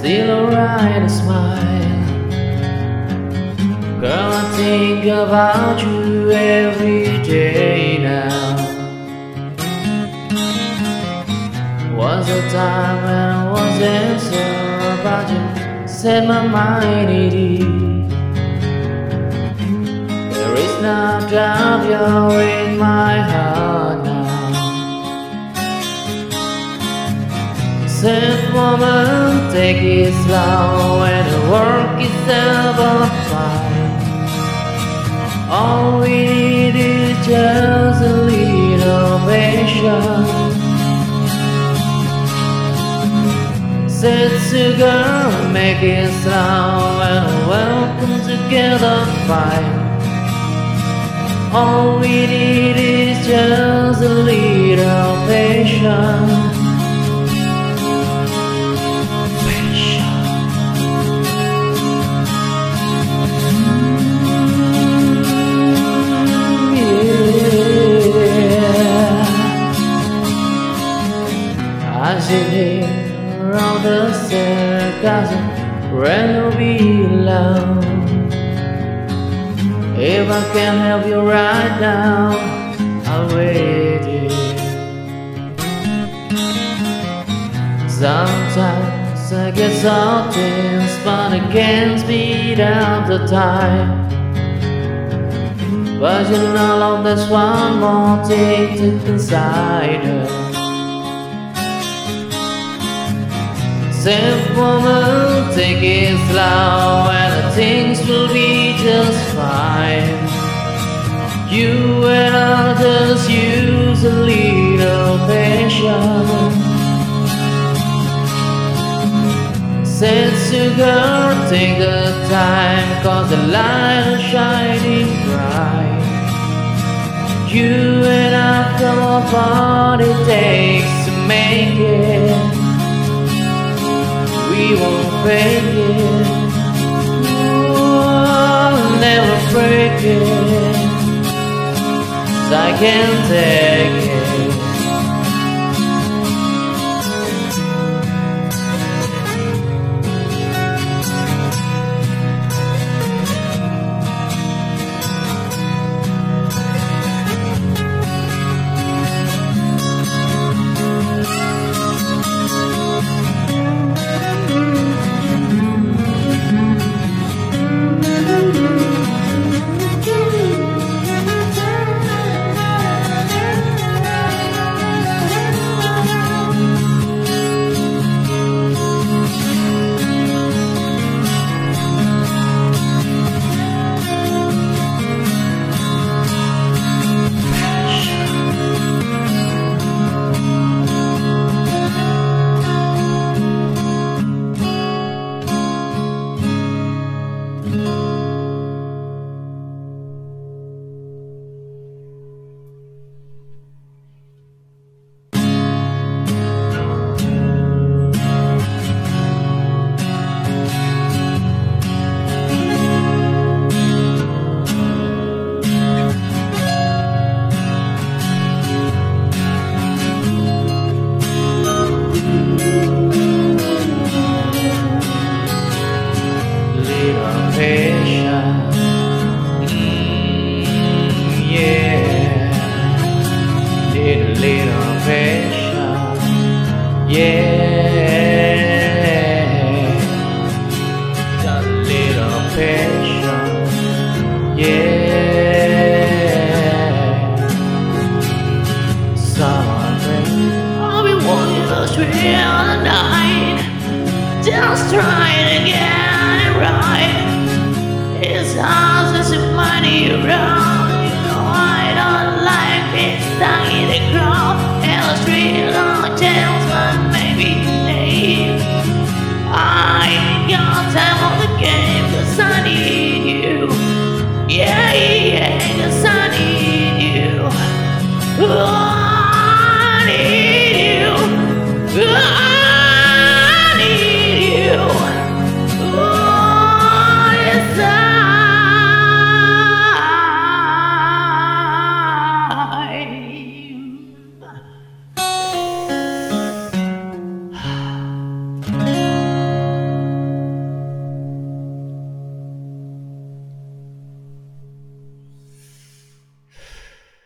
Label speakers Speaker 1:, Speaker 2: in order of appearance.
Speaker 1: still alright to smile. Girl, I think about you every day now. Was a time when I wasn't sure about you, set my mind at ease. There is no doubt you're in my heart now. Said woman, take it slow and work itself up fine. All we need is just a little patience. Said sugar, make it slow and welcome together fine. All we need is just a little patience. I sit here around the circus and rather be alone. If I can help you right now, I'll wait here. Sometimes I get so tense, but I can't speed up the time. But you know, love, there's one more thing to consider. Said woman, take it slow and things will be just fine. You and I just use a little patience. Said sugar, take the time, cause the light is shining bright. You and I come what it takes to make it. We won't fake it, we'll never break it, 'cause I can't take it. Little patience, yeah. Just a little patience, yeah. Something I'll be walking the street on the night, just trying to get it right. It's hard to see money around. You know I don't like being stuck in the crowd. And the street